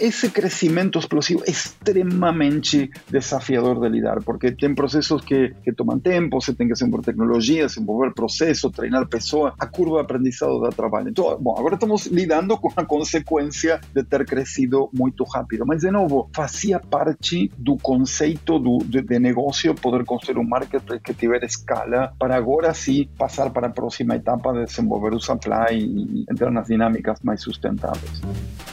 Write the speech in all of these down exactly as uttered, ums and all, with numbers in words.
esse crescimento explosivo é extremamente desafiador de lidar, porque tem processos que, que tomam tempo, você tem que desenvolver tecnologia, desenvolver processo, treinar pessoas, a curva de aprendizado dá trabalho. Então, bom, agora estamos lidando com a consequência de ter crescido muito rápido, mas, de novo, fazia parte do conceito do, de, de negócio poder construir um marketplace que tiver escala para agora sim passar para a próxima etapa de desenvolver o supply e entrar nas dinâmicas mais sustentáveis.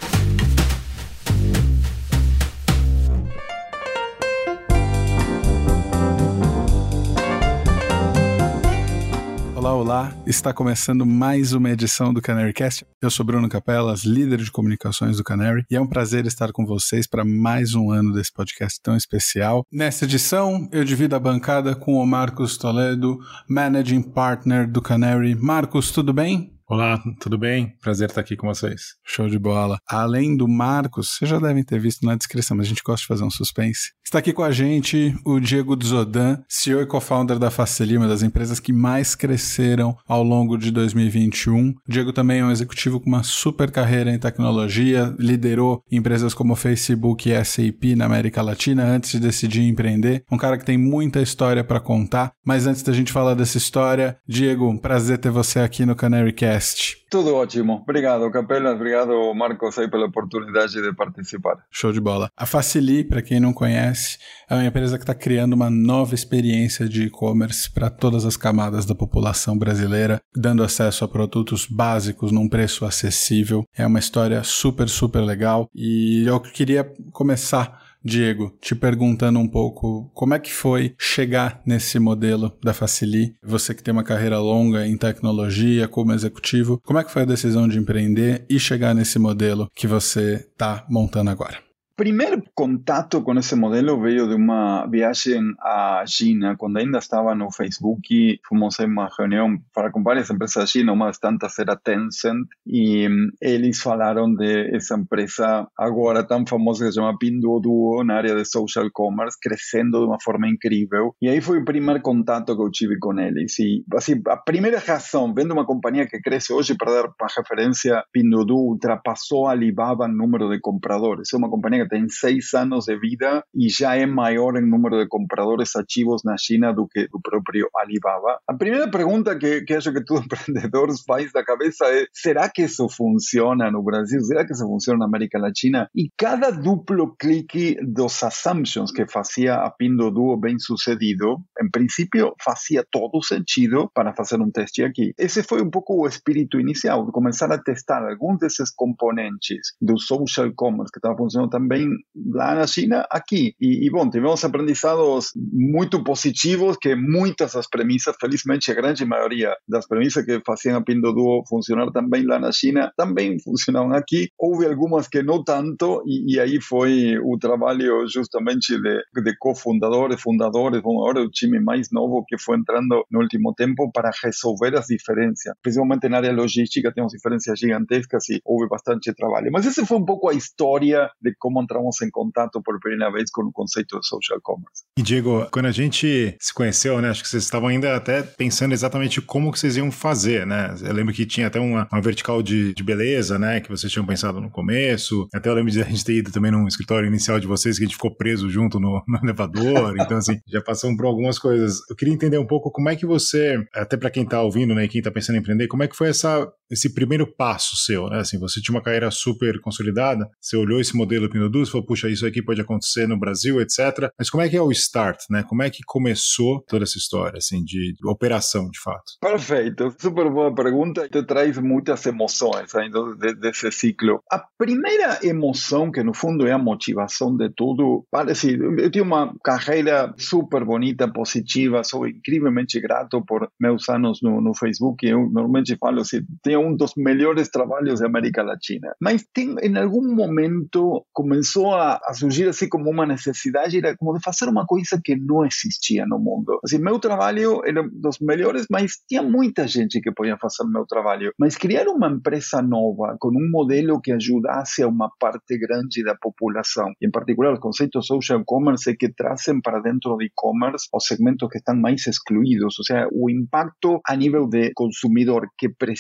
Olá, olá! Está começando mais uma edição do CanaryCast. Eu sou Bruno Capelas, líder de comunicações do Canary, e é um prazer estar com vocês para mais um ano desse podcast tão especial. Nesta edição, eu divido a bancada com o Marcos Toledo, Managing Partner do Canary. Marcos, tudo bem? Olá, tudo bem? Prazer estar aqui com vocês. Show de bola. Além do Marcos, vocês já devem ter visto na descrição, mas a gente gosta de fazer um suspense. Está aqui com a gente o Diego Dzodin, C E O e co-founder da Facili, uma das empresas que mais cresceram ao longo de dois mil e vinte e um. O Diego também é um executivo com uma super carreira em tecnologia, liderou empresas como Facebook e S A P na América Latina antes de decidir empreender. Um cara que tem muita história para contar, mas antes da gente falar dessa história, Diego, um prazer ter você aqui no CanaryCast. Tudo ótimo. Obrigado, Capelas. Obrigado, Marcos, aí pela oportunidade de participar. Show de bola. A Facili, para quem não conhece, é uma empresa que está criando uma nova experiência de e-commerce para todas as camadas da população brasileira, dando acesso a produtos básicos num preço acessível. É uma história super, super legal. E eu queria começar, Diego, te perguntando um pouco como é que foi chegar nesse modelo da Facili, você que tem uma carreira longa em tecnologia como executivo, como é que foi a decisão de empreender e chegar nesse modelo que você está montando agora? O primeiro contato com esse modelo veio de uma viagem à China, quando ainda estava no Facebook. Fomos em uma reunião para com várias empresas da China, uma das tantas era Tencent, e eles falaram de essa empresa agora tão famosa que se chama Pinduoduo, na área de social commerce, crescendo de uma forma incrível. E aí foi o primeiro contato que eu tive com eles. E assim, a primeira razão, vendo uma companhia que cresce hoje, para dar uma referência, Pinduoduo ultrapassou a Alibaba em número de compradores. É uma companhia que tem seis anos de vida e já é maior em número de compradores ativos na China do que do próprio Alibaba. A primeira pergunta que, que acho que todo empreendedor faz da cabeça é: será que isso funciona no Brasil? Será que isso funciona na América Latina? E cada duplo clique dos assumptions que fazia a Pinduoduo bem sucedido, em princípio fazia todo sentido para fazer um teste aqui. Esse foi um pouco o espírito inicial, de começar a testar alguns desses componentes do social commerce que estava funcionando também lá na China, aqui. E, e bom, tivemos aprendizados muito positivos, que muitas das premissas, felizmente a grande maioria das premissas que faziam a Pinduoduo funcionar também lá na China, também funcionavam aqui. Houve algumas que não tanto, e, e aí foi o trabalho justamente de, de cofundadores, fundadores, bom, agora o time mais novo que foi entrando no último tempo para resolver as diferenças. Principalmente na área logística temos diferenças gigantescas e houve bastante trabalho. Mas essa foi um pouco a história de como entramos em contato por primeira vez com o conceito de social commerce. E Diego, quando a gente se conheceu, né, acho que vocês estavam ainda até pensando exatamente como que vocês iam fazer, né? Eu lembro que tinha até uma, uma vertical de, de beleza, né, que vocês tinham pensado no começo. Até eu lembro de a gente ter ido também num escritório inicial de vocês, que a gente ficou preso junto no, no elevador. Então, assim, já passamos por algumas coisas. Eu queria entender um pouco como é que você, até para quem tá ouvindo, né, e quem tá pensando em empreender, como é que foi essa, esse primeiro passo seu, né? Assim, você tinha uma carreira super consolidada, você olhou esse modelo Pinduoduo, falou, puxa, isso aqui pode acontecer no Brasil, etcétera. Mas como é que é o start, né? Como é que começou toda essa história, assim, de, de operação, de fato? Perfeito. Super boa pergunta. Te traz muitas emoções ainda desse ciclo. A primeira emoção, que no fundo é a motivação de tudo, parece, eu tinha uma carreira super bonita, positiva, sou incrivelmente grato por meus anos no, no Facebook. Eu normalmente falo assim, tenho um dos melhores trabalhos da América Latina. Mas tem, em algum momento começou a, a surgir assim como uma necessidade, era como de fazer uma coisa que não existia no mundo. Assim, meu trabalho era dos melhores, mas tinha muita gente que podia fazer meu trabalho. Mas criar uma empresa nova, com um modelo que ajudasse a uma parte grande da população, e em particular os conceitos social commerce que trazem para dentro de e-commerce os segmentos que estão mais excluídos, ou seja, o impacto a nível de consumidor que precisa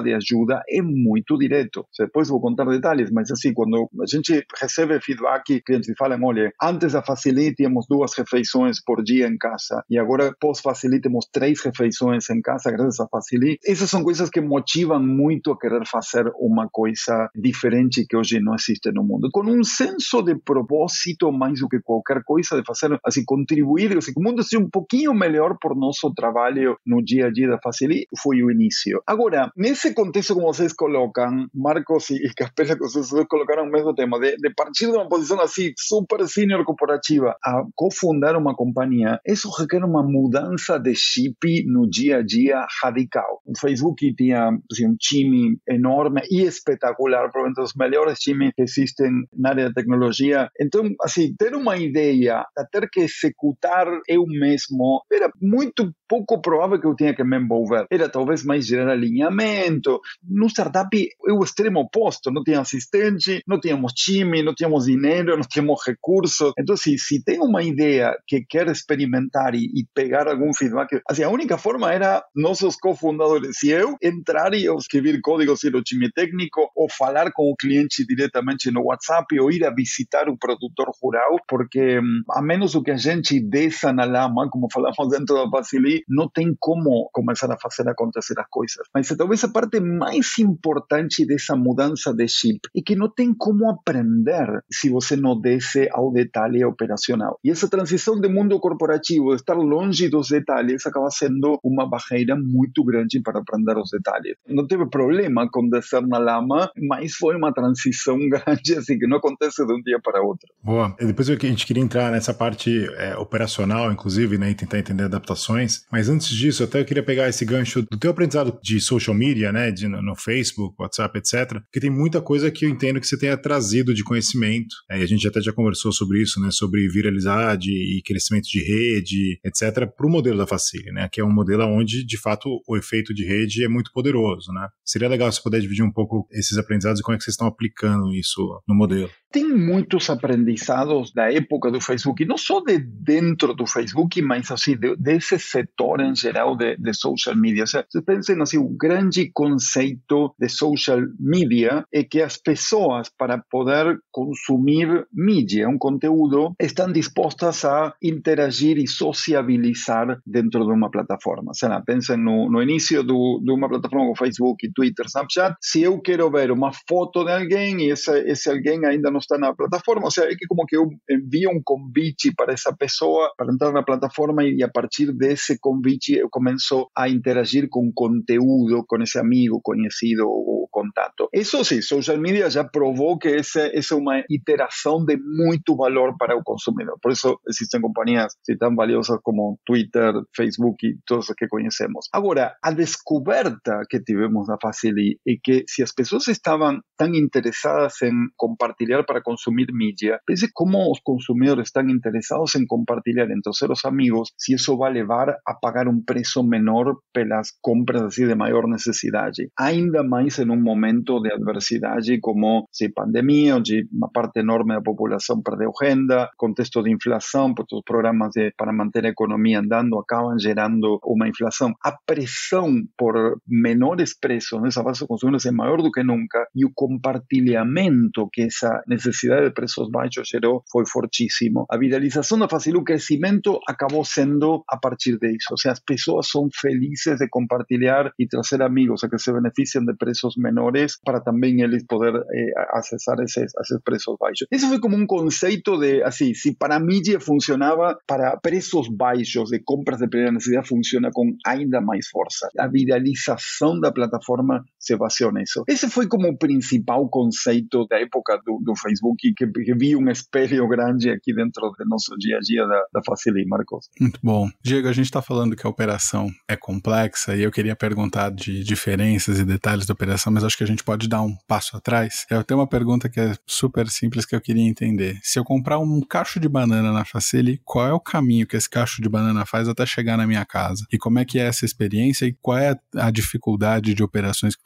de ajuda é muito direto. Depois vou contar detalhes, mas assim, quando a gente recebe feedback, clientes falam, olha, antes da Facili tínhamos duas refeições por dia em casa e agora pós-Facili temos três refeições em casa graças à Facili. Essas são coisas que motivam muito a querer fazer uma coisa diferente que hoje não existe no mundo. Com um senso de propósito mais do que qualquer coisa, de fazer, assim, contribuir, assim, que o mundo seja um pouquinho melhor por nosso trabalho no dia a dia da Facili, foi o início. Agora, nesse contexto como vocês colocam, Marcos e Capella, que vocês colocaram o mesmo tema, de, de partir de uma posição assim, super senior corporativa, a cofundar uma companhia, isso requer uma mudança de chip no dia a dia radical. O Facebook tinha assim, um time enorme e espetacular, provavelmente os melhores times que existem na área de tecnologia. Então, assim, ter uma ideia, ter que executar eu mesmo, era muito pouco provável que eu tinha que me envolver. Era talvez mais gerar alinhamento. No startup é o extremo oposto. Não tinha assistente, não tínhamos time, não tínhamos dinheiro, não tínhamos recursos. Então, se, se tem uma ideia que quer experimentar e, e pegar algum feedback, assim, a única forma era nossos cofundadores e eu entrar e escrever códigos no time técnico ou falar com o cliente diretamente no WhatsApp ou ir a visitar o produtor rural, porque a menos que a gente desça na lama, como falamos dentro da Facili, não tem como começar a fazer acontecer as coisas. Mas talvez a parte mais importante dessa mudança de chip é que não tem como aprender se você não desce ao detalhe operacional. E essa transição do mundo corporativo, de estar longe dos detalhes, acaba sendo uma barreira muito grande para aprender os detalhes. Não teve problema com descer na lama, mas foi uma transição grande, assim, que não acontece de um dia para outro. Boa. E depois a gente queria entrar nessa parte é, operacional, inclusive, né, e tentar entender adaptações. Mas antes disso, até eu queria pegar esse gancho do teu aprendizado de social media, né, de, no, no Facebook, WhatsApp, etcétera, porque tem muita coisa que eu entendo que você tenha trazido de conhecimento. É, e a gente até já conversou sobre isso, né, sobre viralidade e crescimento de rede, etcétera, para o modelo da Facili, né, que é um modelo onde, de fato, o efeito de rede é muito poderoso, né. Seria legal se puder dividir um pouco esses aprendizados e como é que vocês estão aplicando isso no modelo. Tem muitos aprendizados da época do Facebook, não só de dentro do Facebook, mas assim, de, desse setor em geral de, de social media. Vocês pensem assim, o grande conceito de social media é que as pessoas, para poder consumir mídia, um conteúdo, estão dispostas a interagir e sociabilizar dentro de uma plataforma. Sei lá, pensem no, no início do, de uma plataforma como Facebook, Twitter, Snapchat. Se eu quero ver uma foto de alguém e esse, esse alguém ainda não está na plataforma, ou seja, é que como que eu envio um convite para essa pessoa para entrar na plataforma e a partir desse convite eu começo a interagir com conteúdo, com esse amigo, conhecido ou contato. Isso sim, social media já provou que essa, essa é uma iteração de muito valor para o consumidor. Por isso existem companhias tão valiosas como Twitter, Facebook e todas as que conhecemos. Agora, a descoberta que tivemos na Facili é que se as pessoas estavam tão interessadas em compartilhar para consumir mídia, pense como os consumidores estão interessados em compartilhar entre os seus amigos, se isso vai levar a pagar um preço menor pelas compras assim, de maior necessidade. Ainda mais em um momento de adversidade como se pandemia, onde uma parte enorme da população perdeu renda, contexto de inflação, porque os programas de, para manter a economia andando acabam gerando uma inflação. A pressão por menores preços nessa base de consumidores é maior do que nunca e o compartilhamento que essa necessidade de preços baixos gerou foi fortíssimo. A viralização da Facili, o crescimento acabou sendo a partir disso. Ou seja, as pessoas são felizes de compartilhar e trazer amigos a que se beneficiam de preços menores para também eles poder eh, acessar esses, esses preços baixos. Isso foi como um conceito de, assim, se para a mídia funcionava, para preços baixos de compras de primeira necessidade funciona com ainda mais força. A viralização da plataforma se baseou nisso. Esse foi como o principal conceito da época do, do Facebook, que, que vi um espelho grande aqui dentro do nosso dia a dia da, da Facili, Marcos. Muito bom. Diego, a gente está falando que a operação é complexa e eu queria perguntar de diferenças e detalhes da operação, mas acho que a gente pode dar um passo atrás. Eu tenho uma pergunta que é super simples que eu queria entender. Se eu comprar um cacho de banana na Facili, qual é o caminho que esse cacho de banana faz até chegar na minha casa? E como é que é essa experiência e qual é a dificuldade de operações que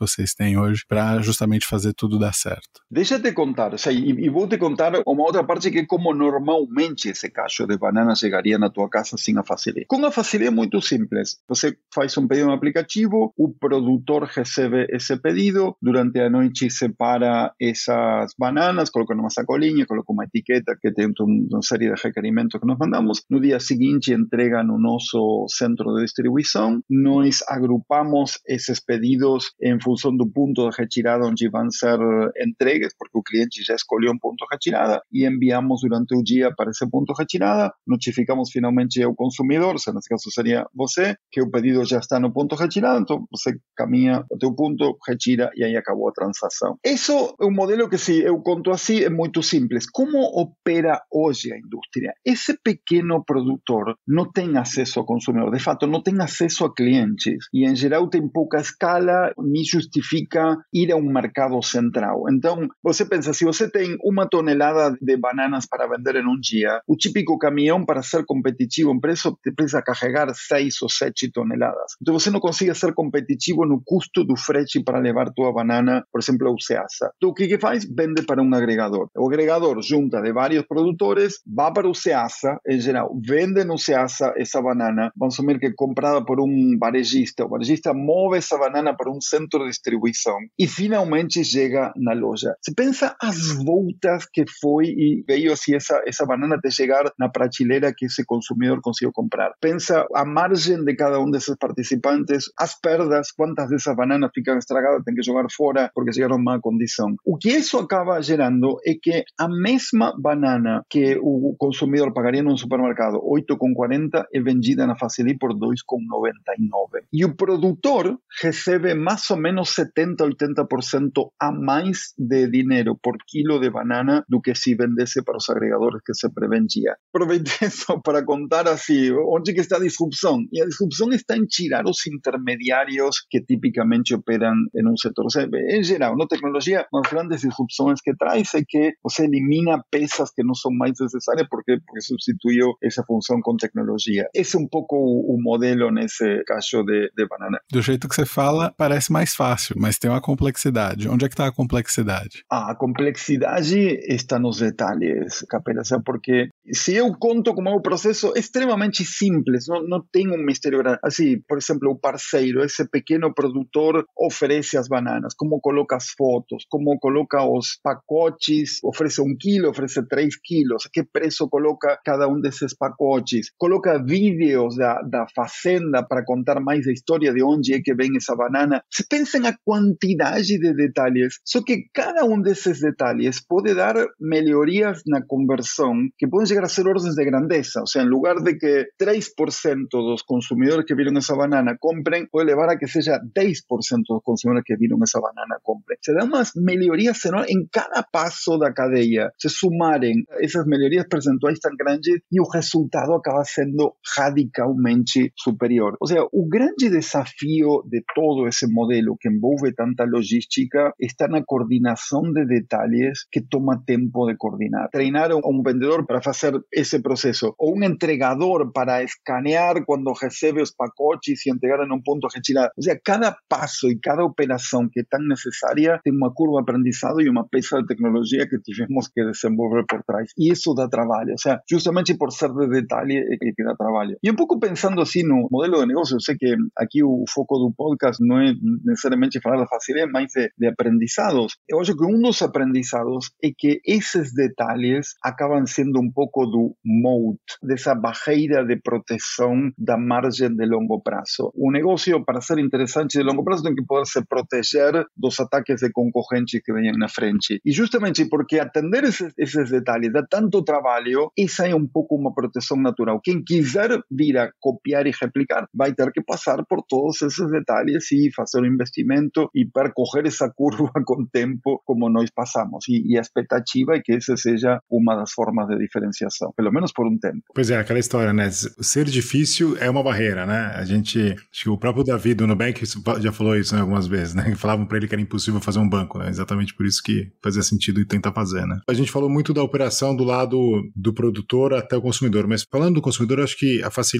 vocês têm hoje para justamente fazer tudo dar certo? Deixa eu te contar, o sea, e, e vou te contar uma outra parte que é como normalmente esse cacho de banana chegaria na tua casa sem a Facili. Com a Facili é muito simples. Você faz um pedido no aplicativo, o produtor recebe esse pedido, durante a noite separa essas bananas, coloca numa sacolinha, coloca uma etiqueta que tem uma série de requerimentos que nós mandamos. No dia seguinte entrega no nosso centro de distribuição. Nós agrupamos esses pedidos em função do ponto de retirada onde vão ser entregues, porque o cliente já escolheu um ponto de retirada e enviamos durante o dia para esse ponto de retirada. Notificamos finalmente ao consumidor, se nesse caso seria você, que o pedido já está no ponto de retirada, então você caminha até o ponto, retira e aí acabou a transação. Isso é um modelo que, se eu conto assim, é muito simples. Como opera hoje a indústria? Esse pequeno produtor não tem acesso ao consumidor, de fato não tem acesso a clientes e em geral tem pouca escala, nem justifica ir a um mercado central. Então, você pensa, se você tem uma tonelada de bananas para vender em um dia, o típico caminhão, para ser competitivo em preço, precisa carregar seis ou sete toneladas. Então, você não consegue ser competitivo no custo do frete para levar tua banana, por exemplo, ao Ceasa. Então, o que que faz? Vende para um agregador. O agregador junta de vários produtores, vai para o Ceasa, em geral, vende no Ceasa essa banana, vamos assumir que é comprada por um varejista, o varejista move essa banana para um centro de distribuição e finalmente chega na loja. Você pensa as voltas que foi e veio assim essa, essa banana até chegar na prateleira que esse consumidor conseguiu comprar. Pensa a margem de cada um desses participantes, as perdas, quantas dessas bananas ficam estragadas, tem que jogar fora porque chegaram em má condição. O que isso acaba gerando é que a mesma banana que o consumidor pagaria num supermercado oito reais e quarenta centavos é vendida na Facili por dois reais e noventa e nove centavos. E o produtor recebe mais ou menos setenta a oitenta por cento a mais de dinheiro por quilo de banana do que se vendesse para os agregadores que se prevendia. Aproveitei isso para contar assim, onde que está a disrupção? E a disrupção está em tirar os intermediários que tipicamente operam em um setor. Ou seja, em geral, na tecnologia, uma das grandes disrupções que traz é que você elimina peças que não são mais necessárias porque, porque substituiu essa função com tecnologia. Esse é um pouco o, o modelo nesse caso de, de banana. Do jeito que você fala, parece mais fácil, mas tem uma complexidade. Onde é que está a complexidade? A complexidade está nos detalhes, Capela, porque se eu conto como é o processo, é extremamente simples, não, não tem um mistério grande. Assim, por exemplo, o parceiro, esse pequeno produtor, oferece as bananas, como coloca as fotos, como coloca os pacotes, oferece um quilo, oferece três quilos, que preço coloca cada um desses pacotes, coloca vídeos da, da fazenda para contar mais a história de onde é que vem essa banana. Você pensa na quantidade de detalhes, só que cada um desses detalhes pode dar melhorias na conversão que podem chegar a ser ordens de grandeza. Ou seja, em lugar de que três por cento dos consumidores que viram essa banana comprem, pode levar a que seja dez por cento dos consumidores que viram essa banana comprem. Se dá umas melhorias enormes em cada passo da cadeia. Se sumarem essas melhorias percentuais tão grandes e o resultado acaba sendo radicalmente superior. Ou seja, o grande desafio de todo esse modelo que envolve tanta logística está na coordenação de detalhes que toma tempo de coordenar. Treinar um vendedor para fazer esse processo ou um entregador para escanear quando recebe os pacotes e entregar em um ponto de retirada. Ou seja, cada passo e cada operação que é tão necessária tem uma curva de aprendizado e uma peça de tecnologia que tivemos que desenvolver por trás. E isso dá trabalho. Ou seja, justamente por ser de detalhe é que dá trabalho. E um pouco pensando assim no modelo de negócio, eu sei que aqui o foco do podcast não é necessariamente falar da facilidade, mas de, de aprendizados. Eu acho que um dos aprendizados é que esses detalhes acabam sendo um pouco do moat, dessa barreira de proteção da margem de longo prazo. O negócio, para ser interessante de longo prazo, tem que poder se proteger dos ataques de concorrentes que venham na frente. E justamente porque atender esses, esses detalhes dá tanto trabalho, essa é um pouco uma proteção natural. Quem quiser vir a copiar e replicar vai ter que passar por todos esses detalhes e fazer um investimento e percorrer essa curva com o tempo como nós passamos. E, e a expectativa é que essa seja uma das formas de diferenciação, pelo menos por um tempo. Pois é, aquela história, né? Ser difícil é uma barreira, né? A gente, acho que o próprio Davi do Nubank já falou isso, né, algumas vezes, né? Falavam para ele que era impossível fazer um banco, né? Exatamente por isso que fazia sentido e tentar fazer, né? A gente falou muito da operação do lado do produtor até o consumidor, mas falando do consumidor, acho que a Facili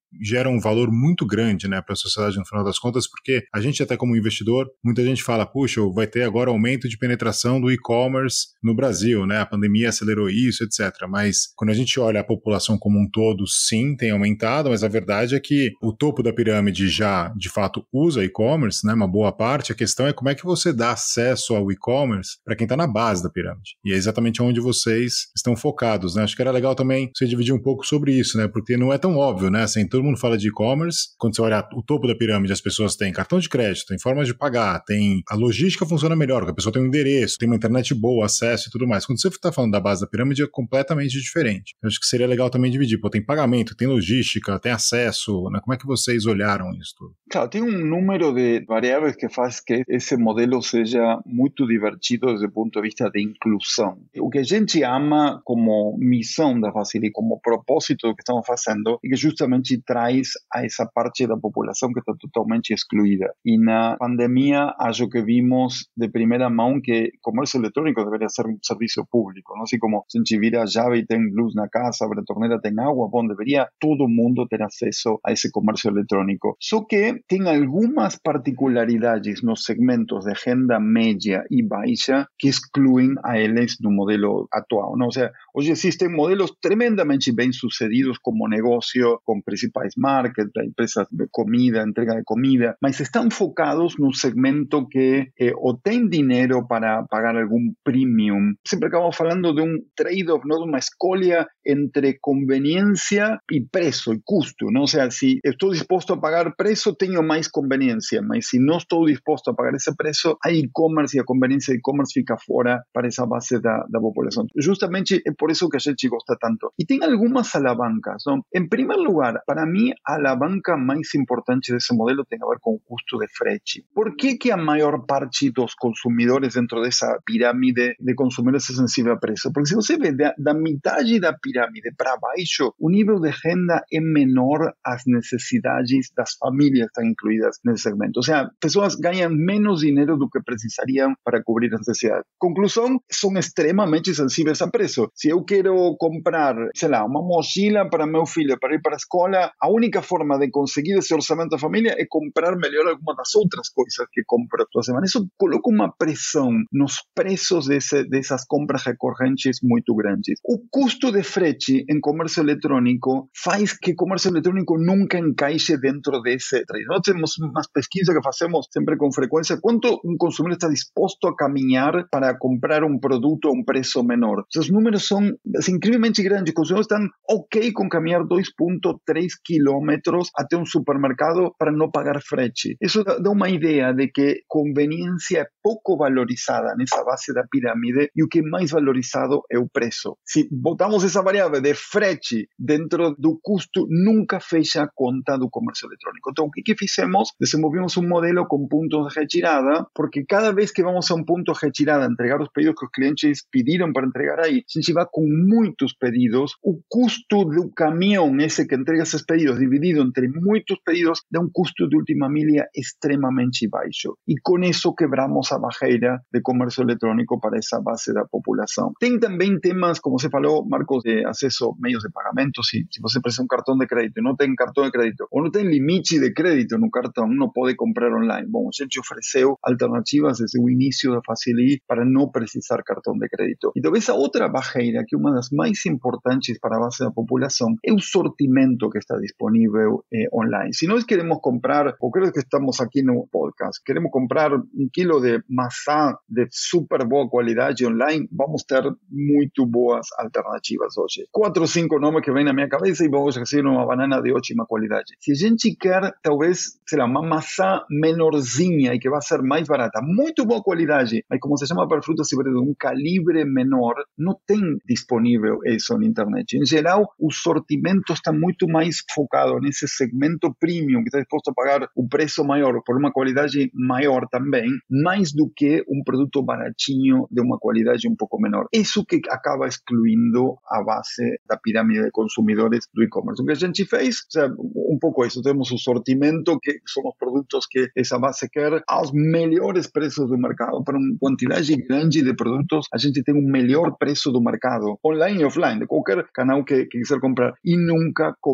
gera um valor muito grande, né, para a sociedade no final das contas, porque a gente até como investidor, muita gente fala, puxa, vai ter agora aumento de penetração do e-commerce no Brasil, né, a pandemia acelerou isso, etcétera. Mas quando a gente olha a população como um todo, sim, tem aumentado, mas a verdade é que o topo da pirâmide já, de fato, usa e-commerce, né, uma boa parte. A questão é como é que você dá acesso ao e-commerce para quem está na base da pirâmide. E é exatamente onde vocês estão focados, né? Acho que era legal também você dividir um pouco sobre isso, né? Porque não é tão óbvio, né? Assim, todo mundo fala de e-commerce, quando você olha o topo da pirâmide, as pessoas têm cartão de crédito, tem formas de pagar, tem a logística funciona melhor, porque a pessoa tem um endereço, tem uma internet boa, acesso e tudo mais. Quando você está falando da base da pirâmide, é completamente diferente. Eu acho que seria legal também dividir. Pô, tem pagamento, tem logística, tem acesso, né? Como é que vocês olharam isso tudo? Claro, tem um número de variáveis que faz que esse modelo seja muito divertido desde o ponto de vista de inclusão. O que a gente ama como missão da Facili, como propósito do que estamos fazendo, é que justamente traz a essa parte da população que está totalmente excluída. E na pandemia, acho que vimos de primeira mão que comércio eletrônico deveria ser um serviço público, não? Assim como a gente vira a chave e tem luz na casa, abre a torneira, tem água, bom, deveria todo mundo ter acesso a esse comércio eletrônico. Só que tem algumas particularidades nos segmentos de renda média e baixa que excluem a eles do modelo atual, não? Ou seja, hoje existem modelos tremendamente bem sucedidos como negócio com principais marcas, empresas de comida, entrega de comida, mas estão focados no segmento que eh, ou tem dinheiro para pagar algum premium. Sempre acabamos falando de um trade-off, não? De uma escolha entre conveniência e preço e custo, não? Ou seja, se estou disposto a pagar preço, tenho mais conveniência, mas se não estou disposto a pagar esse preço, a e-commerce e a conveniência de e-commerce fica fora para essa base da, da população. Justamente é por isso que a gente gosta tanto. E tem algumas alavancas, não? Em primeiro lugar, para mim, a alavanca mais importante desse modelo tem a ver com o custo de frete. Por que que a maior parte dos consumidores dentro dessa pirâmide de consumidores é sensível a preço? Porque se você vê da, da metade da pirâmide para baixo, o nível de renda é menor às necessidades das famílias que estão incluídas nesse segmento. Ou seja, pessoas ganham menos dinheiro do que precisariam para cobrir as necessidades. Conclusão, são extremamente sensíveis a preço. Se eu quero comprar, sei lá, uma mochila para meu filho para ir para a escola, a única forma de conseguir esse orçamento da família é comprar melhor alguma das outras coisas que compra toda semana. Isso coloca uma pressão nos preços desse, dessas compras recorrentes muito grandes. O custo de frete em comércio eletrônico faz que o comércio eletrônico nunca encaixe dentro desse trade. Nós temos umas pesquisas que fazemos sempre com frequência. Quanto um consumidor está disposto a caminhar para comprar um produto a um preço menor? Os números são assim, incrivelmente grandes. Os consumidores estão ok com caminhar dois vírgula três quilômetros até um supermercado para não pagar frete. Isso dá uma ideia de que conveniência é pouco valorizada nessa base da pirâmide e o que é mais valorizado é o preço. Se botamos essa variável de frete dentro do custo, nunca fecha a conta do comércio eletrônico. Então, o que, que fizemos? Desenvolvimos um modelo com pontos de retirada, porque cada vez que vamos a um ponto de retirada entregar os pedidos que os clientes pediram para entregar aí, a gente vai com muitos pedidos, o custo do caminhão, esse que entrega esses pedidos, dividido entre muitos pedidos, dá um custo de última milha extremamente baixo. E com isso quebramos a barreira de comércio eletrônico para essa base da população. Tem também temas, como você falou, Marcos, de acesso a meios de pagamento. Se, se você precisa um cartão de crédito e não tem cartão de crédito, ou não tem limite de crédito no cartão, não pode comprar online. Bom, a gente ofereceu alternativas desde o início da Facili para não precisar cartão de crédito. E talvez a outra barreira, que é uma das mais importantes para a base da população, é o sortimento que está disponível eh, online. Se nós queremos comprar, ou creo que estamos aqui no podcast, queremos comprar um quilo de maçã de super boa qualidade online, vamos ter muito boas alternativas hoje. Quatro ou cinco nomes que vêm na minha cabeça e vamos receber uma banana de ótima qualidade. Se a gente quer, talvez, sei lá, uma maçã menorzinha e que vai ser mais barata, muito boa qualidade, mas como se chama para frutas e verduras, um calibre menor, não tem disponível isso na internet. Em geral, o sortimento está muito mais focado nesse segmento premium, que está disposto a pagar o preço maior por uma qualidade maior também, mais do que um produto baratinho de uma qualidade um pouco menor. Isso que acaba excluindo a base da pirâmide de consumidores do e-commerce. O que a gente fez, o sea, um pouco isso, temos o sortimento, que são os produtos que essa base quer, aos melhores preços do mercado. Para uma quantidade grande de produtos, a gente tem um melhor preço do mercado, online e offline, de qualquer canal que, que quiser comprar, e nunca cobramos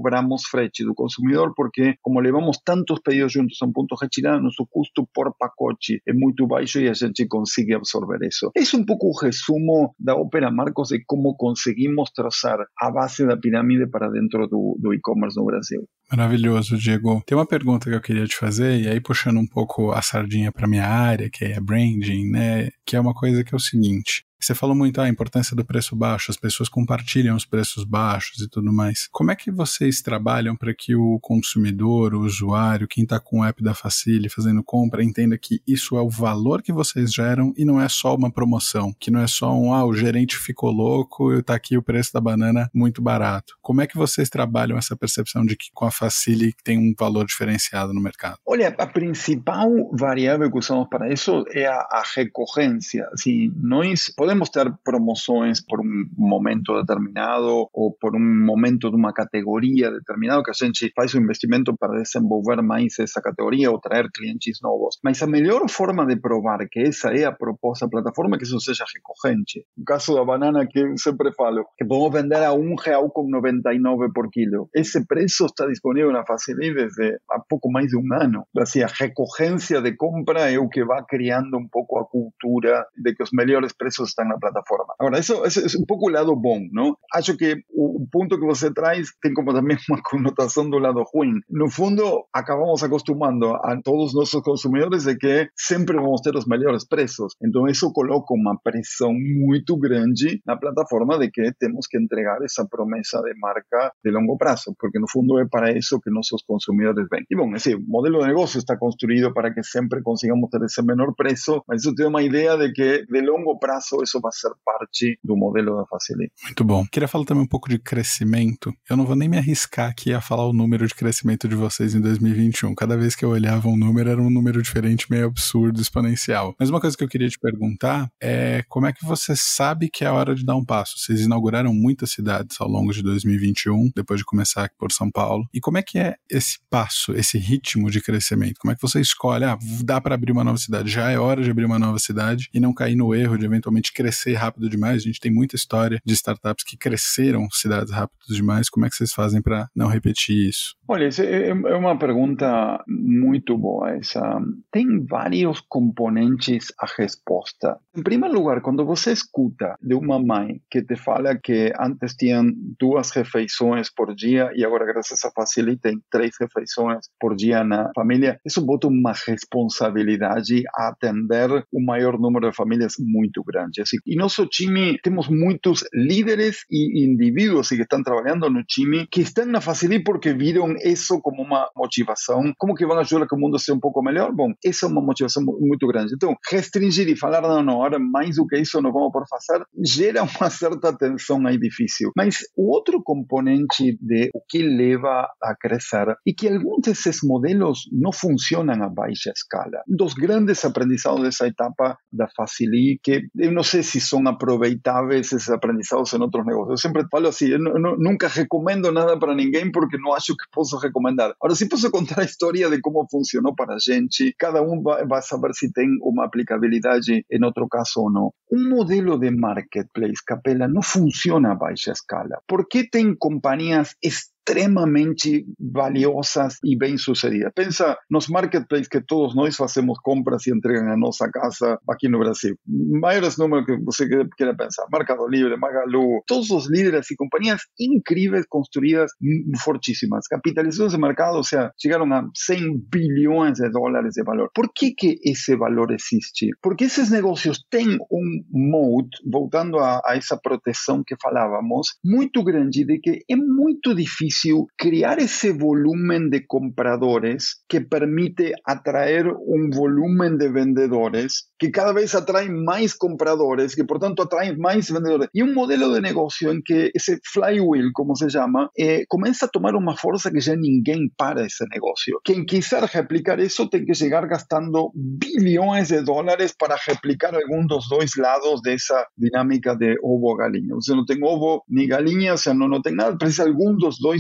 frete do consumidor, porque como levamos tantos pedidos juntos a um ponto de retirada, nosso custo por pacote é muito baixo e a gente consegue absorver isso. Esse é um pouco o resumo da ópera, Marcos, de como conseguimos traçar a base da pirâmide para dentro do, do e-commerce no Brasil. Maravilhoso, Diego. Tem uma pergunta que eu queria te fazer, e aí puxando um pouco a sardinha para minha área, que é branding, né? Que é uma coisa que é o seguinte. Você falou muito ah, a importância do preço baixo, as pessoas compartilham os preços baixos e tudo mais. Como é que vocês trabalham para que o consumidor, o usuário, quem está com o app da Facili fazendo compra, entenda que isso é o valor que vocês geram e não é só uma promoção, que não é só um, ah, o gerente ficou louco e está aqui o preço da banana muito barato. Como é que vocês trabalham essa percepção de que com a Facili tem um valor diferenciado no mercado? Olha, a principal variável que usamos para isso é a, a recorrência. Assim, nós podemos ter promoções por um momento determinado ou por um momento de uma categoria determinada que a gente faz um investimento para desenvolver mais essa categoria ou trazer clientes novos. Mas a melhor forma de provar que essa é a proposta da plataforma é que isso seja recorrente. No caso da banana, que eu sempre falo, que podemos vender a um real com noventa e nove por quilo. Esse preço está disponível na Facili desde há pouco mais de um ano. Assim, a recorrência de compra é o que vai criando um pouco a cultura de que os melhores preços estão na plataforma. Agora, isso, isso é um pouco o lado bom, não? Acho que o, o ponto que você traz tem como também uma conotação do lado ruim. No fundo, acabamos acostumando a todos os nossos consumidores de que sempre vamos ter os melhores preços. Então, isso coloca uma pressão muito grande na plataforma de que temos que entregar essa promessa de marca de longo prazo, porque no fundo é para isso que nossos consumidores vêm. E bom, esse modelo de negócio está construído para que sempre consigamos ter esse menor preço, mas isso tem uma ideia de que de longo prazo isso vai ser parte do modelo da Facili. Muito bom. Queria falar também um pouco de crescimento. Eu não vou nem me arriscar aqui a falar o número de crescimento de vocês em dois mil e vinte e um. Cada vez que eu olhava um número, era um número diferente, meio absurdo, exponencial. Mas uma coisa que eu queria te perguntar é como é que você sabe que é a hora de dar um passo? Vocês inauguraram muitas cidades ao longo de dois mil e vinte e um, depois de começar aqui por São Paulo. E como é que é esse passo, esse ritmo de crescimento? Como é que você escolhe, ah, dá para abrir uma nova cidade, já é hora de abrir uma nova cidade e não cair no erro de eventualmente crescer rápido demais? A gente tem muita história de startups que cresceram cidades rápido demais. Como é que vocês fazem para não repetir isso? Olha, essa é uma pergunta muito boa essa. Tem vários componentes a resposta. Em primeiro lugar, quando você escuta de uma mãe que te fala que antes tinham duas refeições por dia e agora, graças a Facili, tem três refeições por dia na família, isso bota uma responsabilidade a atender o maior número de famílias muito grande. Assim, e nosso time, temos muitos líderes e indivíduos que estão trabalhando no time que estão na Facili porque viram isso como uma motivação. Como que vão ajudar que o mundo seja um pouco melhor? Bom, essa é uma motivação muito grande. Então, restringir e falar, não, não, agora mais do que isso não vamos por fazer, gera uma certa tensão aí difícil. Mas o outro componente de o que leva a crescer é que alguns desses modelos não funcionam a baixa escala. Dos grandes aprendizados dessa etapa da Facili, que eu não sei se são aproveitáveis esses aprendizados em outros negócios. Eu sempre falo assim, eu nunca recomendo nada para ninguém porque não acho que posso recomendar. Agora, se posso contar a história de como funcionou para a gente, cada um vai, vai saber se tem uma aplicabilidade em outro caso ou não. Um modelo de marketplace, Capella, não funciona a baixa escala. Por que tem companhias extremamente valiosas e bem-sucedidas? Pensa nos marketplaces que todos nós fazemos compras e entregam a nossa casa aqui no Brasil. Maiores números que você queira pensar. Mercado Livre, Magalu, todos os líderes e companhias incríveis construídas fortíssimas. Capitalizações de mercado, ou seja, chegaram a cem bilhões de dólares de valor. Por que que esse valor existe? Porque esses negócios têm um moat, voltando a, a essa proteção que falávamos, muito grande, de que é muito difícil criar esse volume de compradores que permite atrair um volume de vendedores que cada vez atraem mais compradores, que portanto atraem mais vendedores. E um modelo de negócio em que esse flywheel, como se chama, eh, começa a tomar uma força que já ninguém para esse negócio. Quem quiser replicar isso tem que chegar gastando bilhões de dólares para replicar algum dos dois lados dessa dinâmica de ovo-galinha. Você não tem ovo nem galinha, você não, não tem nada, precisa algum dos dois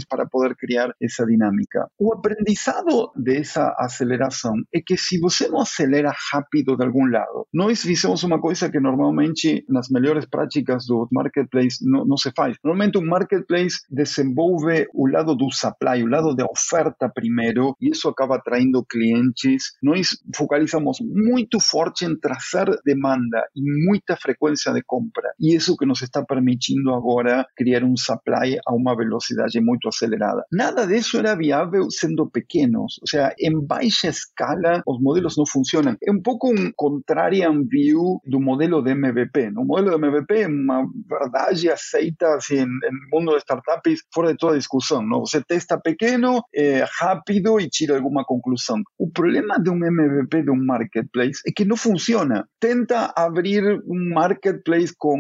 para poder criar essa dinâmica. O aprendizado dessa aceleração é que se você não acelera rápido de algum lado, nós fizemos uma coisa que normalmente nas melhores práticas do marketplace não, não se faz. Normalmente um marketplace desenvolve o lado do supply, o lado da oferta primeiro, e isso acaba atraindo clientes. Nós focalizamos muito forte em trazer demanda e muita frequência de compra, e isso que nos está permitindo agora criar um supply a uma velocidade muito acelerada. Nada disso era viável sendo pequenos, ou seja, em baixa escala os modelos não funcionam. É um pouco um contrarian view do modelo de M V P. O modelo de M V P é uma verdade aceita assim, no mundo de startups fora de toda discussão. Não? Você testa pequeno, é, rápido e tira alguma conclusão. O problema de um M V P de um marketplace é que não funciona. Tenta abrir um marketplace com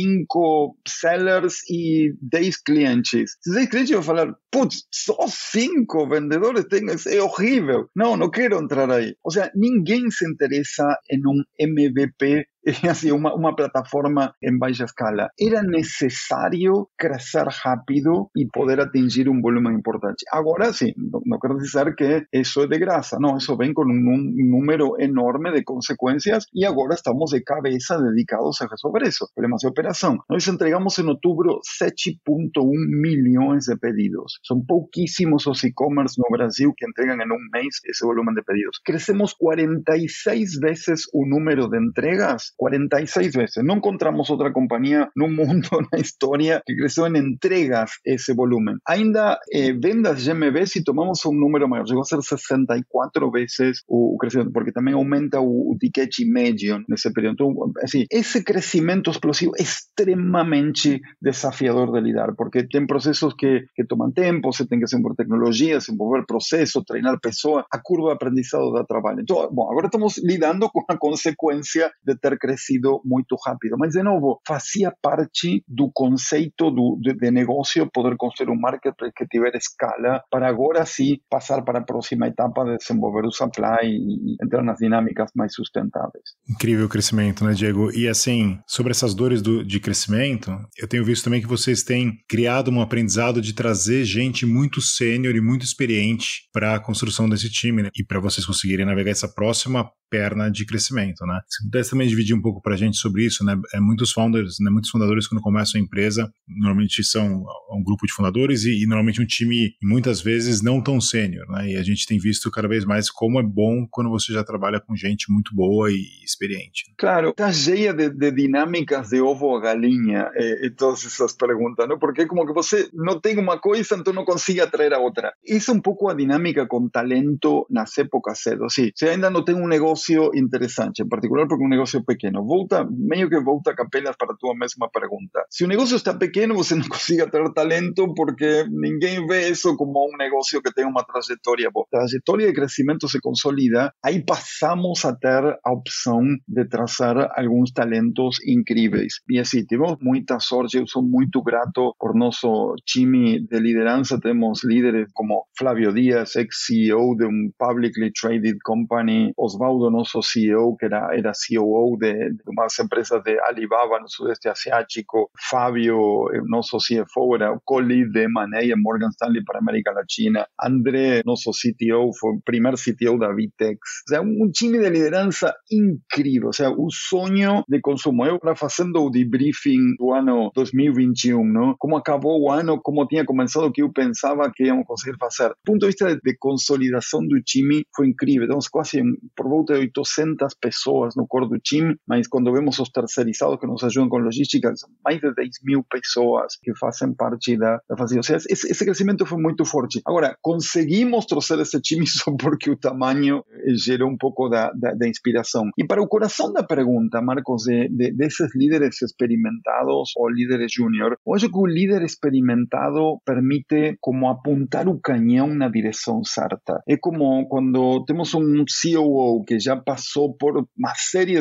cinco sellers e dez clientes. Se dez clientes vão falar, putz, só cinco vendedores tem, é horrível. Não, não quero entrar aí. Ou seja, ninguém se interessa em um M V P, assim, uma, uma plataforma em baixa escala. Era necessário crescer rápido e poder atingir um volume importante. Agora, sim, não, não quero dizer que isso é de graça. Não, isso vem com um número enorme de consequências e agora estamos de cabeça dedicados a resolver isso. Problemas de operação. Nós entregamos em outubro sete vírgula um milhões de pedidos. São pouquíssimos os e-commerce no Brasil que entregam em um mês esse volume de pedidos. Crescemos quarenta e seis vezes o número de entregas, quarenta e seis vezes. Não encontramos outra companhia no mundo, na história, que cresceu em entregas esse volume. Ainda eh, vendas G M V, se tomamos um número maior, chegou a ser sessenta e quatro vezes o, o crescimento, porque também aumenta o, o ticket médio nesse período. Então, assim, esse crescimento explosivo é extremamente desafiador de lidar, porque tem processos que, que tomam tempo, você tem que desenvolver tecnologia, desenvolver processo, treinar pessoa, a curva de aprendizado dá trabalho. Então, bom, agora estamos lidando com a consequência de ter crescido muito rápido. Mas, de novo, fazia parte do conceito do, de, de negócio poder construir um marketplace que tiver escala para agora sim passar para a próxima etapa de desenvolver o supply e entrar nas dinâmicas mais sustentáveis. Incrível o crescimento, né, Diego? E assim, sobre essas dores do, de crescimento, eu tenho visto também que vocês têm criado um aprendizado de trazer gente muito sênior e muito experiente para a construção desse time, né? E para vocês conseguirem navegar essa próxima perna de crescimento, né? Se pudesse também dividir um pouco para a gente sobre isso, né? É, muitos founders, né? Muitos fundadores quando começam a empresa, normalmente são um grupo de fundadores e, e normalmente um time, muitas vezes, não tão sênior, né? E a gente tem visto cada vez mais como é bom quando você já trabalha com gente muito boa e experiente. Claro, está cheia de, de dinâmicas de ovo a galinha e, e todas essas perguntas, não? Porque é como que você não tem uma coisa, então não consegue atrair a outra. Isso é um pouco a dinâmica com talento nas épocas cedo. Sim, você ainda não tem um negócio interessante, em particular porque um negócio pequeno. Volta, meio que volta capelas para a tua mesma pergunta. Se o negócio está pequeno, você não consegue atrair talento porque ninguém vê isso como um negócio que tem uma trajetória boa. A trajetória de crescimento se consolida, aí passamos a ter a opção de trazer alguns talentos incríveis. E assim, tivemos muita sorte, eu sou muito grato por nosso time de liderança, temos líderes como Flávio Dias, ex-C E O de um publicly traded company, Osvaldo, nosso C E O, que era, era C O O de, de umas empresas de Alibaba no Sudeste Asiático, Fábio, nosso C F O, era o co-lead de M and A em Morgan Stanley para a América Latina, André, nosso C T O, foi o primeiro C T O da Vitex. O sea, um time de liderança incrível, o sea, o sonho de consumo. Eu estava fazendo o debriefing do ano dois mil e vinte e um, não? Como acabou o ano, como tinha começado, o que eu pensava que íamos conseguir fazer. Do ponto de vista de, de consolidação do time, foi incrível. Temos quase por volta de oitocentas pessoas no core do time, mas quando vemos os terceirizados que nos ajudam com logística, são mais de dez mil pessoas que fazem parte da, da facilidade. Ou seja, esse, esse crescimento foi muito forte. Agora, conseguimos trouxer esse time só porque o tamanho gerou um pouco da, da, da inspiração. E para o coração da pergunta, Marcos, de, de, desses líderes experimentados ou líderes júnior, eu acho que o líder experimentado permite como apontar o canhão na direção certa. É como quando temos um C O O que já passou por uma série de sofrimentos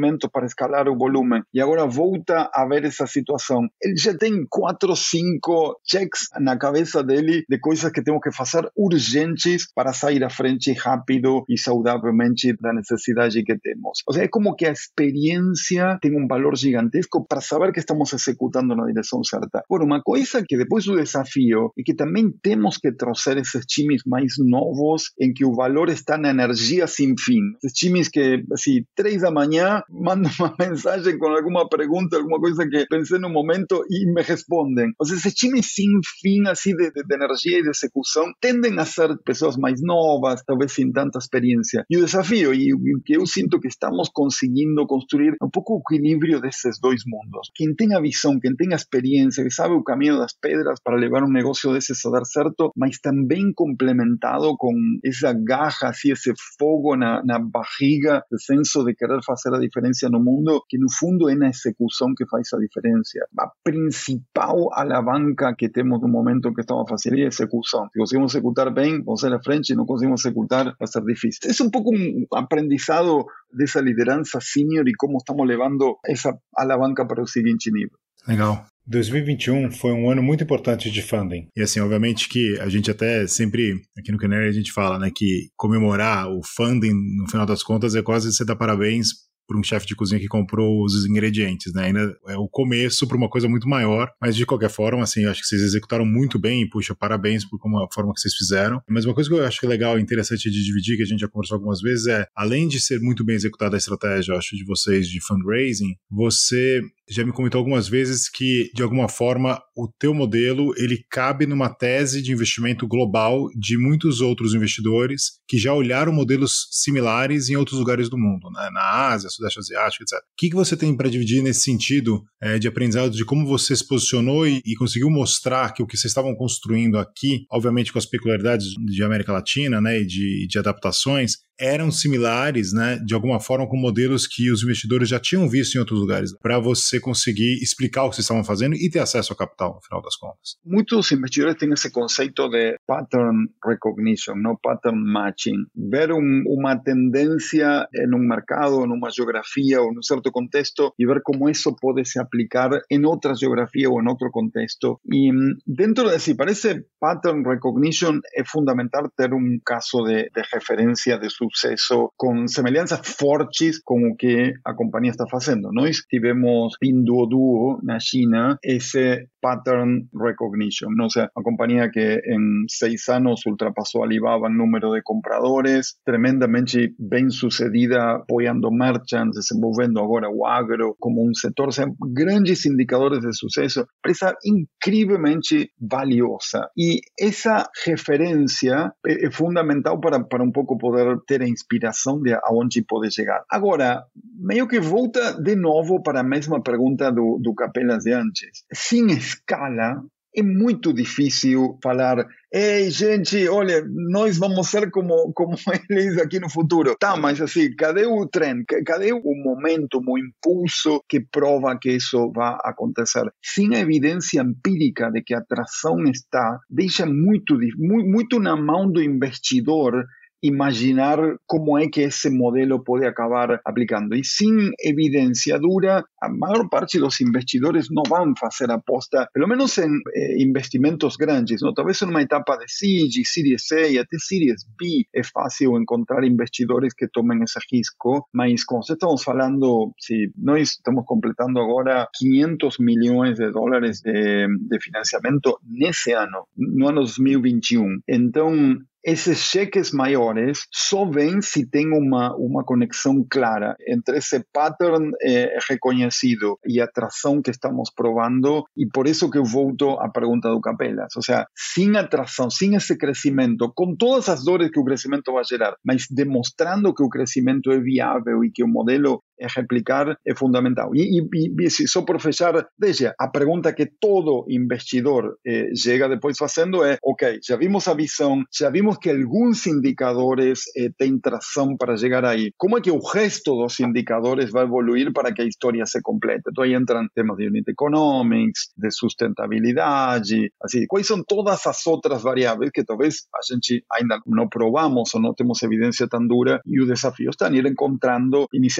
investimentos para escalar o volume e agora volta a ver essa situação, ele já tem quatro, cinco checks na cabeça dele de coisas que temos que fazer urgentes para sair à frente rápido e saudavelmente da necessidade que temos. Ou seja, é como que a experiência tem um valor gigantesco para saber que estamos executando na direção certa. Agora, uma coisa que depois do desafio é que também temos que trouxer esses times mais novos em que o valor está na energia sem fim. Esses times que, assim, três da manhã, mandam uma mensagem com alguma pergunta, alguma coisa que pensei no momento e me respondem. Ou seja, esses times sem fim, assim, de, de, de energia e de execução, tendem a ser pessoas mais novas, talvez sem tanta experiência. E o desafio, e o que eu sinto que estamos conseguindo construir, é um pouco o equilíbrio desses dois mundos. Quem tem a visão, quem tem a experiência, que sabe o caminho das pedras para levar um negócio desses a dar certo, mas também complementado com essa garra, assim, esse fogo na, na barriga, esse senso de querer fazer a diferença no mundo, que no fundo é na execução que faz a diferença. A principal alavanca que temos no momento que estamos fazendo é a execução. Se conseguimos executar bem, vamos ir à frente, se não conseguimos executar, vai ser difícil. É um pouco um aprendizado dessa liderança senior e como estamos levando essa alavanca para o seguinte nível. Legal. dois mil e vinte e um foi um ano muito importante de funding. E assim, obviamente que a gente até sempre, aqui no Canary a gente fala, né, que comemorar o funding, no final das contas, é quase você dar parabéns para um chefe de cozinha que comprou os ingredientes, né? Ainda é o começo para uma coisa muito maior, mas de qualquer forma, assim, eu acho que vocês executaram muito bem e, puxa, parabéns por como a forma que vocês fizeram. Mas uma coisa que eu acho que é legal e interessante de dividir, que a gente já conversou algumas vezes, é, além de ser muito bem executada a estratégia, eu acho, de vocês de fundraising, você já me comentou algumas vezes que, de alguma forma, o teu modelo, ele cabe numa tese de investimento global de muitos outros investidores que já olharam modelos similares em outros lugares do mundo, né? Na Ásia, Sudeste Asiático, etcétera. O que, que você tem para dividir nesse sentido é, de aprendizado de como você se posicionou e, e conseguiu mostrar que o que vocês estavam construindo aqui, obviamente com as peculiaridades de América Latina, né, e de, de adaptações, eram similares, né, de alguma forma com modelos que os investidores já tinham visto em outros lugares, para você conseguir explicar o que vocês estavam fazendo e ter acesso ao capital, no final das contas? Muitos investidores têm esse conceito de pattern recognition, não pattern matching. Ver um, uma tendência em um mercado, em uma geografia ou em um certo contexto e ver como isso pode se aplicar em outra geografia ou em outro contexto. E dentro de si, para esse pattern recognition é fundamental ter um caso de, de referência de sucesso com semelhanças fortes com o que a companhia está fazendo. Nós tivemos Pinduoduo na China esse pattern recognition, ¿no? O sea, uma companhia que em seis anos ultrapassou a Alibaba em número de compradores, tremendamente bem sucedida, apoiando merchants, desenvolvendo agora o agro como um setor, o sea, grandes indicadores de sucesso, empresa incrivelmente valiosa. E essa referência é, é fundamental para, para um pouco poder ter a inspiração de aonde pode chegar. Agora, meio que volta de novo para a mesma pergunta do, do Capelas de antes. Sem escala, é muito difícil falar, ei, gente, olha, nós vamos ser como, como eles aqui no futuro. Tá, mas assim, cadê o trem? Cadê o momento, o impulso que prova que isso vai acontecer? Sem a evidência empírica de que a atração está, deixa muito, muito, muito na mão do investidor imaginar como é que esse modelo pode acabar aplicando. E sem evidência dura, a maior parte dos investidores não vão fazer aposta, pelo menos em eh, investimentos grandes, não? Talvez em uma etapa de seed, Series A e até Series B é fácil encontrar investidores que tomem esse risco, mas como estamos falando, se nós estamos completando agora quinhentos milhões de dólares de, de financiamento nesse ano, no ano dois mil e vinte e um. Então, esses cheques maiores só vêm se tem uma, uma conexão clara entre esse pattern eh, reconhecido e a atração que estamos provando, e por isso que eu volto à pergunta do Capelas. Ou seja, sem atração, sem esse crescimento, com todas as dores que o crescimento vai gerar, mas demonstrando que o crescimento é viável e que o modelo é replicar, é fundamental. E, e, e só por fechar, veja, a pergunta que todo investidor eh, chega depois fazendo é, ok, já vimos a visão, já vimos que alguns indicadores eh, têm tração para chegar aí. Como é que o resto dos indicadores vai evoluir para que a história se complete? Então aí entram temas de unit economics, de sustentabilidade, assim, quais são todas as outras variáveis que talvez a gente ainda não provamos ou não temos evidência tão dura, e o desafio está em ir encontrando inicialmente as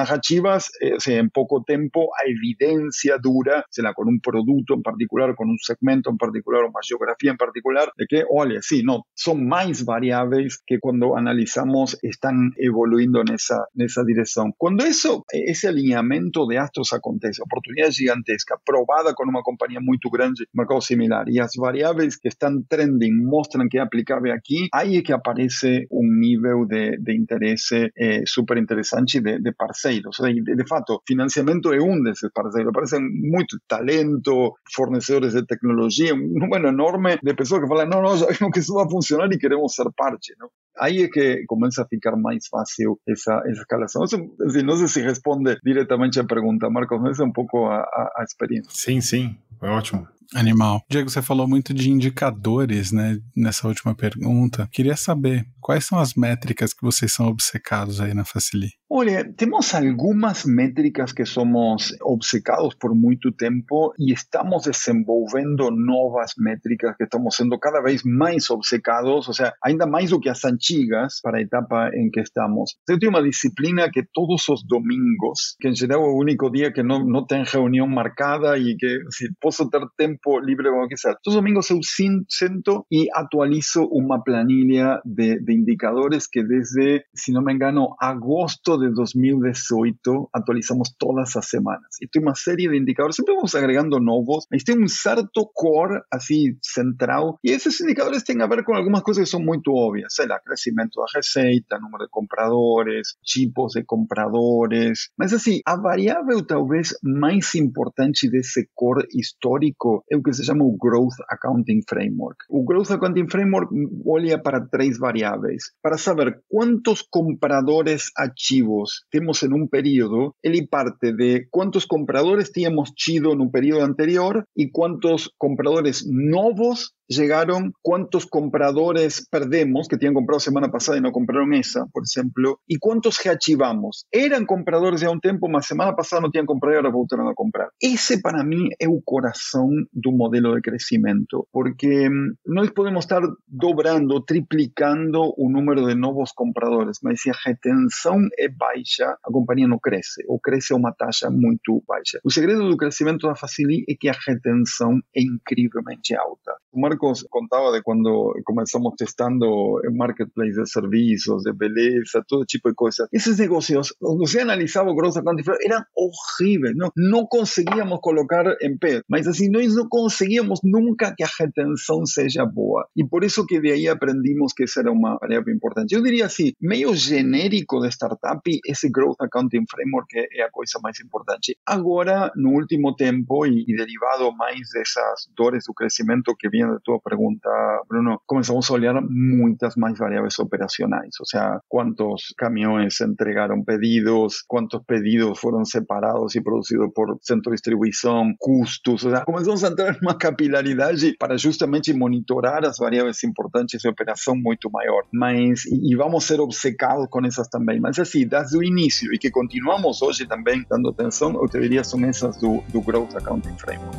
narrativas, eh, o sea, en poco tiempo, a evidencia dura, o sea, con un producto en particular, con un segmento en particular, una geografía en particular, de que, oye, sí, no, son más variables que cuando analizamos están evolucionando en esa, en esa dirección. Cuando eso, ese alineamiento de astros acontece, oportunidad gigantesca, probada con una compañía muy grande, mercado similar, y las variables que están trending muestran que es aplicable aquí, ahí es que aparece un nivel de, de interés eh, súper interesante de, de parceiros. O sea, de, de fato, financiamiento es un de esos parceiros. Aparecen mucho talento, fornecedores de tecnología, un número enorme de personas que falan, no, no, sabemos que eso va a funcionar y queremos ser parte, ¿no? Ahí es que comienza a ficar más fácil esa, esa escalación. No sé, es decir, no sé si responde directamente a la pregunta, Marcos, mas é um pouco a, a, a experiência. Sim, sim, foi ótimo. Animal. Diego, você falou muito de indicadores, né, nessa última pergunta. Queria saber, quais são as métricas que vocês são obcecados aí na Facili? Olha, temos algumas métricas que somos obcecados por muito tempo e estamos desenvolvendo novas métricas que estamos sendo cada vez mais obcecados, ou seja, ainda mais do que as antigas para a etapa em que estamos. Eu tenho uma disciplina que todos os domingos, que em geral é o único dia que não, não tem reunião marcada e que assim, posso ter tempo livre como quiser. Todos os domingos eu sento e atualizo uma planilha de, de indicadores que desde, se não me engano, agosto de dos mil dezoito atualizamos todas as semanas. E tem uma série de indicadores, sempre vamos agregando novos, mas tem um certo core, assim, central, e esses indicadores têm a ver com algumas coisas que são muito óbvias, sei lá, crescimento da receita, número de compradores, tipos de compradores, mas assim, a variável talvez mais importante desse core histórico é o que se chama o Growth Accounting Framework. O Growth Accounting Framework olha para três variáveis, para saber quantos compradores ativos temos en un periodo, él parte de cuántos compradores teníamos tido en un periodo anterior y cuántos compradores nuevos llegaron, cuántos compradores perdemos, que tenían comprado semana pasada y no compraron esa, por ejemplo, y cuántos reactivamos. Eran compradores ya un tiempo, mas semana pasada no tenían comprado y ahora voltaron a comprar. Ese para mí es el corazón de un modelo de crecimiento, porque no podemos estar dobrando, triplicando un número de nuevos compradores, mas si la retención es baixa, a compañía no crece, ou crece a uma taxa muito baixa. O segredo do crescimento da Facili é que a retenção é incrivelmente alta. O Marcos contava de quando começamos testando en marketplace de serviços, de beleza, todo tipo de coisas. Esses negócios, quando você analisava o Growth Accounting Framework, eram horríveis, não, não conseguíamos colocar em pé, mas assim, nós não conseguíamos nunca que a retenção seja boa. E por isso que de aí aprendimos que essa era uma variável importante. Eu diria assim, meio genérico de startup, esse Growth Accounting Framework é a coisa mais importante. Agora, no último tempo, e, e derivado mais dessas dores do crescimento que vinha da tua pergunta, Bruno, começamos a olhar muitas mais variáveis operacionais. Ou seja, quantos caminhões entregaram pedidos, quantos pedidos foram separados e produzidos por centro de distribuição, custos. Ou seja, começamos a entrar numa capilaridade para justamente monitorar as variáveis importantes de operação muito maior. Mas, e, e vamos ser obcecados com essas também. Mas assim, desde o início e que continuamos hoje também dando atenção, eu te diria são essas do, do Growth Accounting Framework.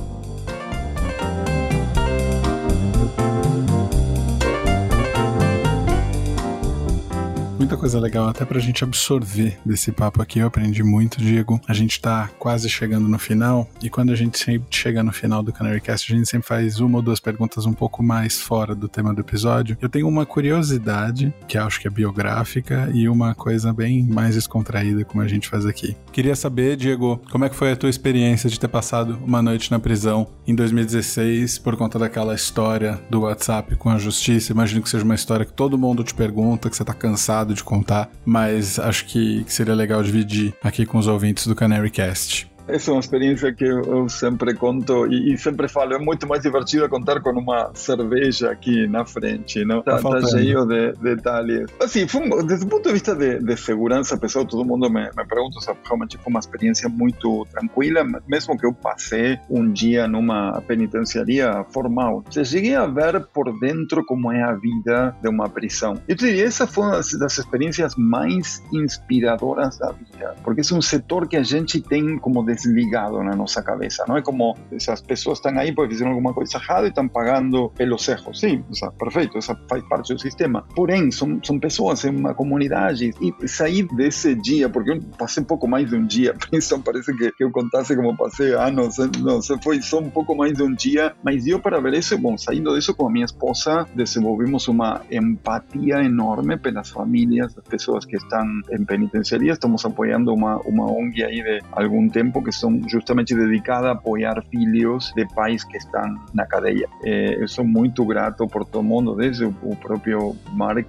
Muita coisa legal até pra gente absorver desse papo aqui. Eu aprendi muito, Diego. A gente tá quase chegando no final, e quando a gente sempre chega no final do CanaryCast, a gente sempre faz uma ou duas perguntas um pouco mais fora do tema do episódio. Eu tenho uma curiosidade, que acho que é biográfica, e uma coisa bem mais descontraída, como a gente faz aqui. Queria saber, Diego, como é que foi a tua experiência de ter passado uma noite na prisão em dois mil e dezesseis por conta daquela história do WhatsApp com a justiça? Imagino que seja uma história que todo mundo te pergunta, que você tá cansado de contar, mas acho que seria legal dividir aqui com os ouvintes do CanaryCast. Essa é uma experiência que eu sempre conto e, e sempre falo, é muito mais divertido contar com uma cerveja aqui na frente, não? Tá, tá cheio de, de detalhes. Assim, foi, desde o ponto de vista de, de segurança pessoal, todo mundo me, me pergunta se realmente foi uma experiência muito tranquila, mesmo que eu passei um dia numa penitenciaria formal. Eu cheguei a ver por dentro como é a vida de uma prisão. Eu diria, essa foi uma das experiências mais inspiradoras da vida, porque é um setor que a gente tem como desligado na nossa cabeça. Não é como essas pessoas estão aí porque fizeram alguma coisa errada e estão pagando pelos erros. Sim, o sea, perfeito, essa faz parte do sistema. Porém, são, são pessoas em uma comunidade e sair desse dia, porque eu passei pouco mais de um dia, isso parece que, que eu contasse como passei anos, não, foi só um pouco mais de um dia, mas deu para ver isso. Bom, saindo disso com a minha esposa, desenvolvimos uma empatia enorme pelas famílias das pessoas que estão em penitenciaria. Estamos apoiando uma, uma O N G aí de algum tempo que são justamente dedicada a apoiar filhos de pais que estão na cadeia. Eh, eu sou muito grato por todo mundo, desde o, o próprio Mark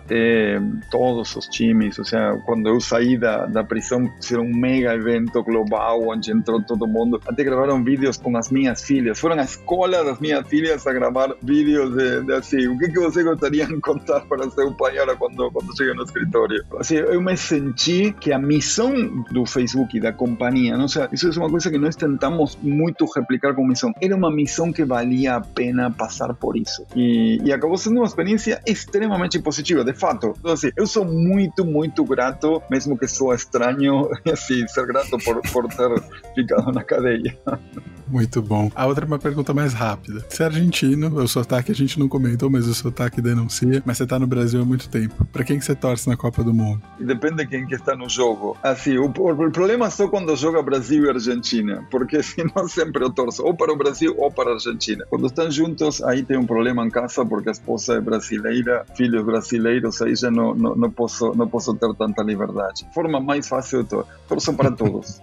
até todos os times. Ou seja, quando eu saí da, da prisão, fizeram um mega evento global onde entrou todo mundo. Até gravaram vídeos com as minhas filhas. Foram à escola das minhas filhas a gravar vídeos de, de assim, o que, que você gostaria de contar para seu pai agora quando, quando chega no escritório. Assim, eu me senti que a missão do Facebook e da companhia, não sei, isso é uma coisa que nós tentamos muito replicar como missão. Era uma missão que valia a pena passar por isso. E, e acabou sendo uma experiência extremamente positiva, de fato. Então, assim, eu sou muito, muito grato, mesmo que sou estranho, assim, ser grato por, por ter ficado na cadeia. Muito bom. A outra é uma pergunta mais rápida. Você é argentino, o sotaque a gente não comentou, mas o sotaque denuncia, mas você tá no Brasil há muito tempo. Pra quem que você torce na Copa do Mundo? Depende de quem que está no jogo. Assim, o, o problema é só quando joga Brasil e Argentina, porque senão sempre eu torço ou para o Brasil ou para a Argentina. Quando estão juntos, aí tem um problema em casa, porque a esposa é brasileira, filhos brasileiros, aí já não, não, não, posso, não posso ter tanta liberdade. Forma mais fácil, eu torço para todos.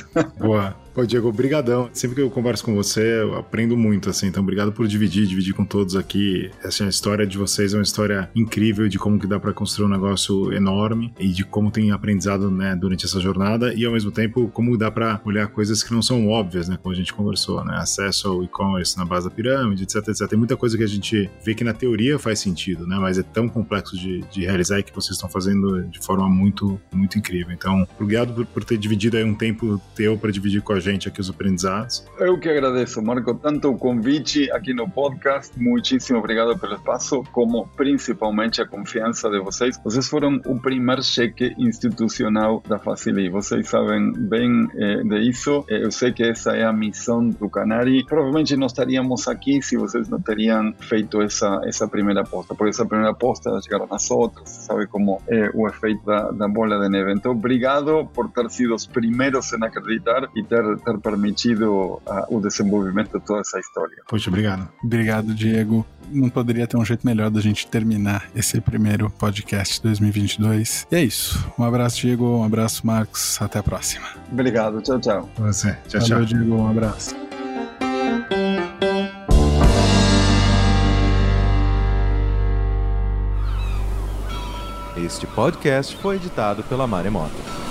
Boa. Pô, Diego, brigadão. Sempre que eu converso com você, eu aprendo muito, assim. Então, obrigado por dividir, dividir com todos aqui. Essa história de vocês é uma história incrível de como que dá para construir um negócio enorme e de como tem aprendizado, né, durante essa jornada e, ao mesmo tempo, como dá para olhar coisas que não são óbvias, né, como a gente conversou, né? Acesso ao e-commerce na base da pirâmide, etc, etcétera. Tem muita coisa que a gente vê que na teoria faz sentido, né? Mas é tão complexo de, de realizar e que vocês estão fazendo de forma muito, muito incrível. Então, obrigado por, por ter dividido aí um tempo teu para dividir com a gente aqui os aprendizados. Eu que agradeço, Marco, tanto o convite aqui no podcast, muitíssimo obrigado pelo espaço, como principalmente a confiança de vocês. Vocês foram o primeiro cheque institucional da Facili. Vocês sabem bem eh, de isso. Eu sei que essa é a missão do Canary. Provavelmente não estaríamos aqui se vocês não teriam feito essa, essa primeira aposta, porque essa primeira aposta chegaram as outras, sabe como é o efeito da, da bola de neve. Então, obrigado por ter sido os primeiros em acreditar e ter, ter permitido uh, o desenvolvimento de toda essa história. Poxa, obrigado. Obrigado, Diego. Não poderia ter um jeito melhor da gente terminar esse primeiro podcast dois mil e vinte e dois. E é isso. Um abraço, Diego. Um abraço, Marcos. Até a próxima. Obrigado. Tchau, tchau. Você. Tchau, Valeu, tchau. Diego. Um abraço. Este podcast foi editado pela Maremoto.